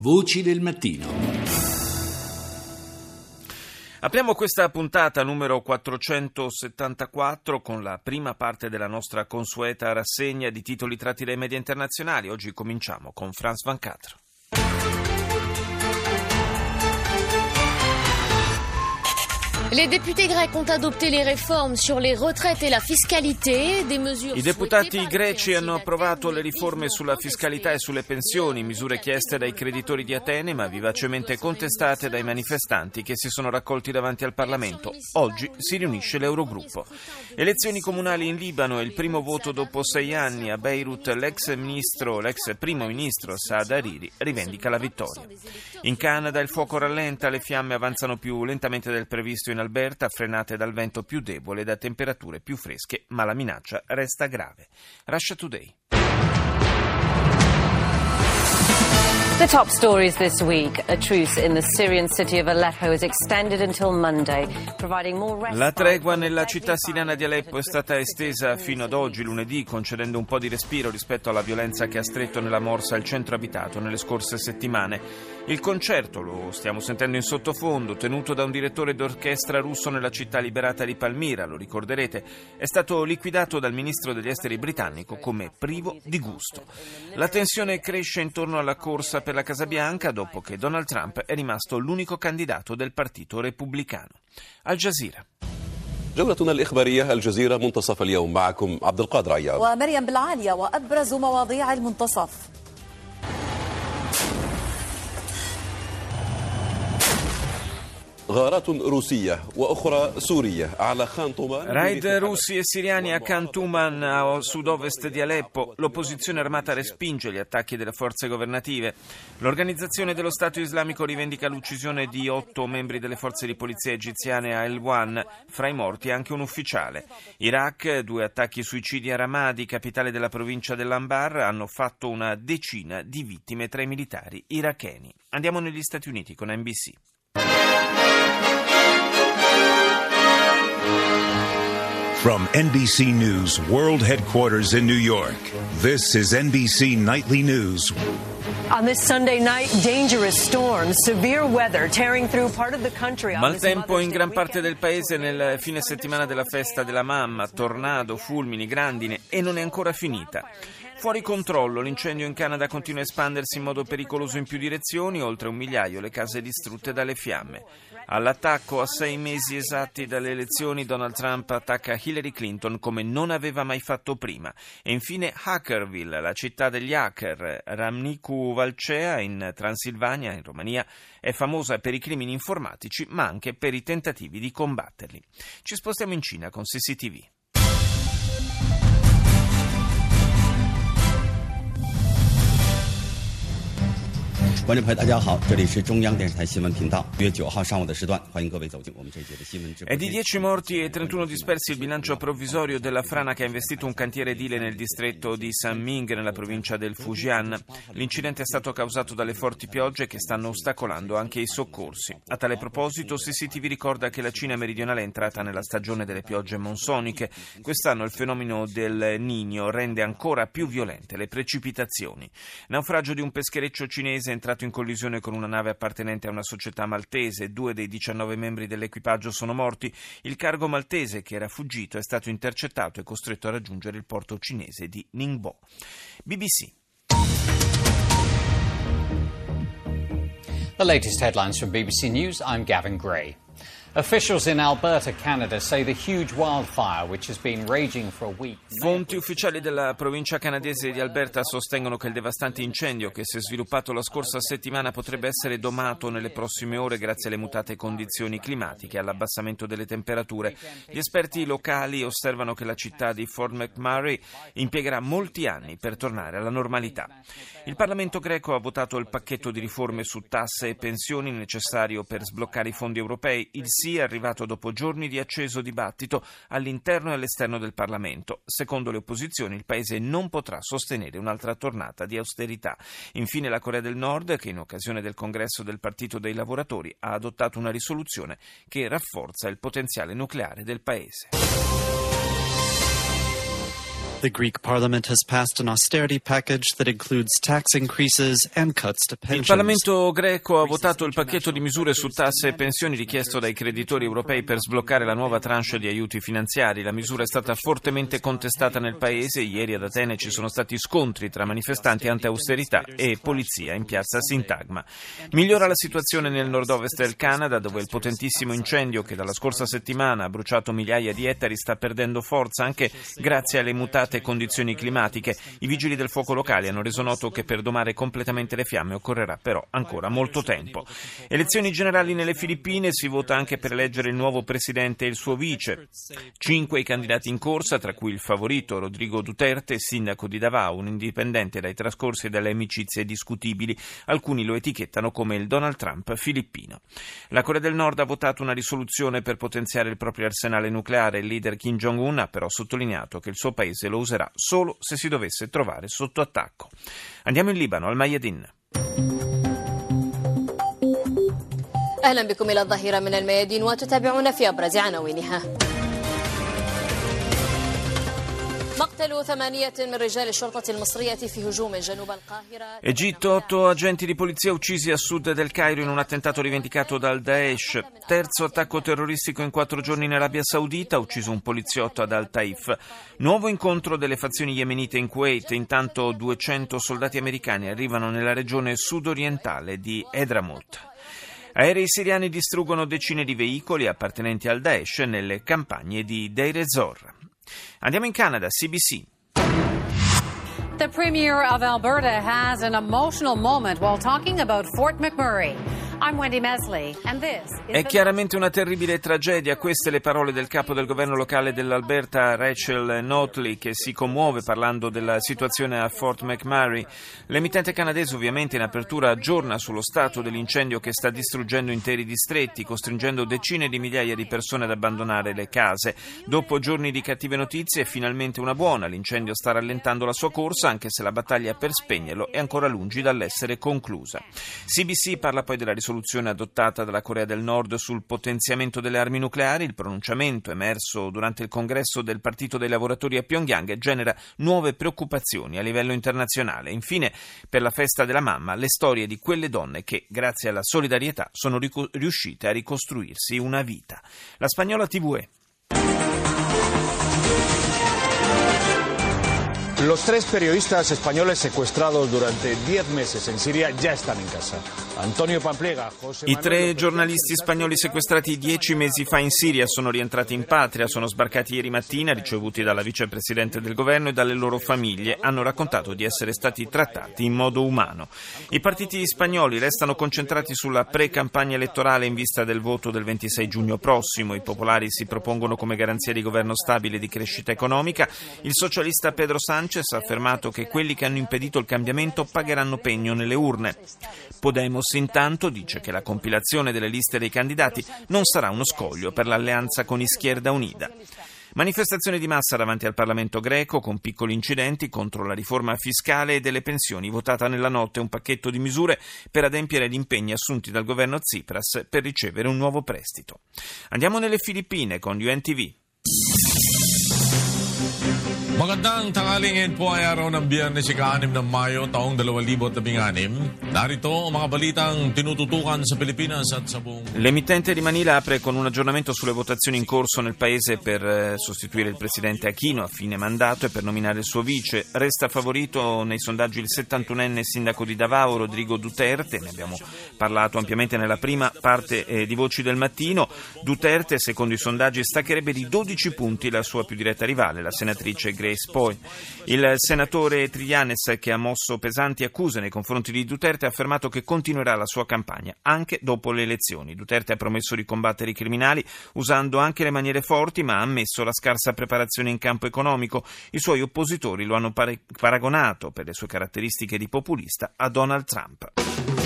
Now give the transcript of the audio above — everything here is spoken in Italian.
Voci del mattino. Apriamo questa puntata numero 474 con la prima parte della nostra consueta rassegna di titoli tratti dai media internazionali. Oggi cominciamo con France 24. Les députés grecs ont adopté les réformes sur les retraites et la fiscalité, des mesures. I deputati greci hanno approvato le riforme sulla fiscalità e sulle pensioni, misure chieste dai creditori di Atene ma vivacemente contestate dai manifestanti che si sono raccolti davanti al Parlamento. Oggi si riunisce l'Eurogruppo. Elezioni comunali in Libano e il primo voto dopo 6 anni. A Beirut l'ex primo ministro Saad Hariri rivendica la vittoria. In Canada il fuoco rallenta, le fiamme avanzano più lentamente del previsto in Alberta, frenate dal vento più debole e da temperature più fresche, ma la minaccia resta grave. Russia Today. The top stories this week. A truce in the Syrian city of Aleppo is extended until Monday, providing more respite. La tregua nella città siriana di Aleppo è stata estesa fino ad oggi, lunedì, concedendo un po' di respiro rispetto alla violenza che ha stretto nella morsa il centro abitato nelle scorse settimane. Il concerto, lo stiamo sentendo in sottofondo, tenuto da un direttore d'orchestra russo nella città liberata di Palmira, lo ricorderete, è stato liquidato dal ministro degli esteri britannico come privo di gusto. La tensione cresce intorno alla corsa per la Casa Bianca dopo che Donald Trump è rimasto l'unico candidato del partito repubblicano. Al Jazeera. جولتنا الإخبارية الجزيرة منتصف اليوم معكم عبد القادر عياض ومريم بالعالية وأبرز مواضيع المنتصف. Raid russi e siriani a Khan Tuman, a sud-ovest di Aleppo. L'opposizione armata respinge gli attacchi delle forze governative. L'Organizzazione dello Stato Islamico rivendica l'uccisione di 8 membri delle forze di polizia egiziane a Helwan, fra i morti anche un ufficiale. Iraq, 2 attacchi suicidi a Ramadi, capitale della provincia dell'Anbar, hanno fatto una decina di vittime tra i militari iracheni. Andiamo negli Stati Uniti con NBC. From NBC News World Headquarters in New York, this is NBC Nightly News. On this Sunday night, dangerous storms, severe weather tearing through part of the country. Maltempo in gran parte del paese nel fine settimana della festa della mamma, tornado, fulmini, grandine e non è ancora finita. Fuori controllo, l'incendio in Canada continua a espandersi in modo pericoloso in più direzioni, oltre 1 migliaio le case distrutte dalle fiamme. All'attacco a 6 mesi esatti dalle elezioni, Donald Trump attacca Hillary Clinton come non aveva mai fatto prima. E infine Hackerville, la città degli hacker, Râmnicu Vâlcea in Transilvania, in Romania, è famosa per i crimini informatici ma anche per i tentativi di combatterli. Ci spostiamo in Cina con CCTV. 观众朋友大家好，这里是中央电视台新闻频道，1月9号上午的时段，欢迎各位走进我们这一节的新闻直播。 È di 10 morti e 31 dispersi il bilancio provvisorio della frana che ha investito un cantiere edile nel distretto di Sanming, nella provincia del Fujian. L'incidente è stato causato dalle forti piogge che stanno ostacolando anche i soccorsi. A tale proposito, CCTV ricorda che la Cina meridionale è entrata nella stagione delle piogge monsoniche. Quest'anno il fenomeno del Niño rende ancora più violente le precipitazioni. Naufragio di un peschereccio cinese è entrato in collisione con una nave appartenente a una società maltese. 2 dei 19 membri dell'equipaggio sono morti. Il cargo maltese, che era fuggito, è stato intercettato e costretto a raggiungere il porto cinese di Ningbo. BBC. The latest headlines from BBC News. I'm Gavin Gray. Officials in Alberta, Canada, say the huge wildfire, which has been raging for a week. Fonti ufficiali della provincia canadese di Alberta sostengono che il devastante incendio che si è sviluppato la scorsa settimana potrebbe essere domato nelle prossime ore grazie alle mutate condizioni climatiche e all'abbassamento delle temperature. Gli esperti locali osservano che la città di Fort McMurray impiegherà molti anni per tornare alla normalità. Il Parlamento greco ha votato il pacchetto di riforme su tasse e pensioni necessario per sbloccare i fondi europei. Il sì è arrivato dopo giorni di acceso dibattito all'interno e all'esterno del Parlamento. Secondo le opposizioni, il Paese non potrà sostenere un'altra tornata di austerità. Infine la Corea del Nord, che in occasione del congresso del Partito dei Lavoratori ha adottato una risoluzione che rafforza il potenziale nucleare del Paese. The Greek parliament has passed an austerity package that includes tax increases and cuts to pensions. Il Parlamento greco ha votato il pacchetto di misure su tasse e pensioni richiesto dai creditori europei per sbloccare la nuova tranche di aiuti finanziari. La misura è stata fortemente contestata nel paese. Ieri ad Atene ci sono stati scontri tra manifestanti anti-austerità e polizia in piazza Sintagma. Migliora la situazione nel nord-ovest del Canada, dove il potentissimo incendio che dalla scorsa settimana ha bruciato migliaia di ettari sta perdendo forza anche grazie alle mutate condizioni climatiche. I vigili del fuoco locali hanno reso noto che per domare completamente le fiamme occorrerà però ancora molto tempo. Elezioni generali nelle Filippine, si vota anche per eleggere il nuovo presidente e il suo vice. 5 i candidati in corsa, tra cui il favorito Rodrigo Duterte, sindaco di Davao, un indipendente dai trascorsi e dalle amicizie discutibili. Alcuni lo etichettano come il Donald Trump filippino. La Corea del Nord ha votato una risoluzione per potenziare il proprio arsenale nucleare. Il leader Kim Jong-un ha però sottolineato che il suo paese lo userà solo se si dovesse trovare sotto attacco. Andiamo in Libano, al Mayadin. أهلا بكم إلى الظهيرة من الميادين وتتابعون في أبرز عناوينها. Egitto, 8 agenti di polizia uccisi a sud del Cairo in un attentato rivendicato dal Daesh. Terzo attacco terroristico in 4 giorni in Arabia Saudita, ucciso un poliziotto ad Al-Taif. Nuovo incontro delle fazioni yemenite in Kuwait. Intanto 200 soldati americani arrivano nella regione sudorientale di Edramout. Aerei siriani distruggono decine di veicoli appartenenti al Daesh nelle campagne di Deir ez-Zor. Andiamo in Canada, CBC. The Premier of Alberta has an emotional moment while talking about Fort McMurray. I'm Wendy Mesley, and this is È chiaramente una terribile tragedia. Queste le parole del capo del governo locale dell'Alberta, Rachel Notley, che si commuove parlando della situazione a Fort McMurray. L'emittente canadese ovviamente in apertura aggiorna sullo stato dell'incendio che sta distruggendo interi distretti, costringendo decine di migliaia di persone ad abbandonare le case. Dopo giorni di cattive notizie, finalmente una buona. L'incendio sta rallentando la sua corsa, anche se la battaglia per spegnerlo è ancora lungi dall'essere conclusa. CBC parla poi della risoluzione adottata dalla Corea del Nord sul potenziamento delle armi nucleari. Il pronunciamento emerso durante il congresso del Partito dei Lavoratori a Pyongyang genera nuove preoccupazioni a livello internazionale. Infine, per la festa della mamma, le storie di quelle donne che, grazie alla solidarietà, sono riuscite a ricostruirsi una vita. La Spagnola TVE. Los 3 periodistas españoles secuestrados durante 10 meses en Siria ya están en casa. Antonio Pamplega, José I 3 giornalisti spagnoli sequestrati 10 mesi fa in Siria sono rientrati in patria, sono sbarcati ieri mattina, ricevuti dalla vicepresidente del governo e dalle loro famiglie. Hanno raccontato di essere stati trattati in modo umano. I partiti spagnoli restano concentrati sulla pre-campagna elettorale in vista del voto del 26 giugno prossimo. I popolari si propongono come garanzia di governo stabile e di crescita economica. Il socialista Pedro Sánchez ha affermato che quelli che hanno impedito il cambiamento pagheranno pegno nelle urne. Podemos intanto dice che la compilazione delle liste dei candidati non sarà uno scoglio per l'alleanza con Izquierda Unida. Manifestazioni di massa davanti al Parlamento greco con piccoli incidenti contro la riforma fiscale e delle pensioni, votata nella notte un pacchetto di misure per adempiere agli impegni assunti dal governo Tsipras per ricevere un nuovo prestito. Andiamo nelle Filippine con UNTV. Magandang tanghaling po ay araw ng Biyernes, ika-6 ng Mayo, taong 2016. Narito ang mga balitang tinututukan sa Pilipinas at sa buong... L'emittente di Manila apre con un aggiornamento sulle votazioni in corso nel paese per sostituire il presidente Aquino a fine mandato e per nominare il suo vice. Resta favorito nei sondaggi il 71enne sindaco di Davao, Rodrigo Duterte. Ne abbiamo parlato ampiamente nella prima parte di Voci del Mattino. Duterte, secondo i sondaggi, staccherebbe di 12 punti la sua più diretta rivale, la senatrice Grace Poe. Il senatore Trillanes, che ha mosso pesanti accuse nei confronti di Duterte, ha affermato che continuerà la sua campagna anche dopo le elezioni. Duterte ha promesso di combattere i criminali usando anche le maniere forti, ma ha ammesso la scarsa preparazione in campo economico. I suoi oppositori lo hanno paragonato, per le sue caratteristiche di populista, a Donald Trump.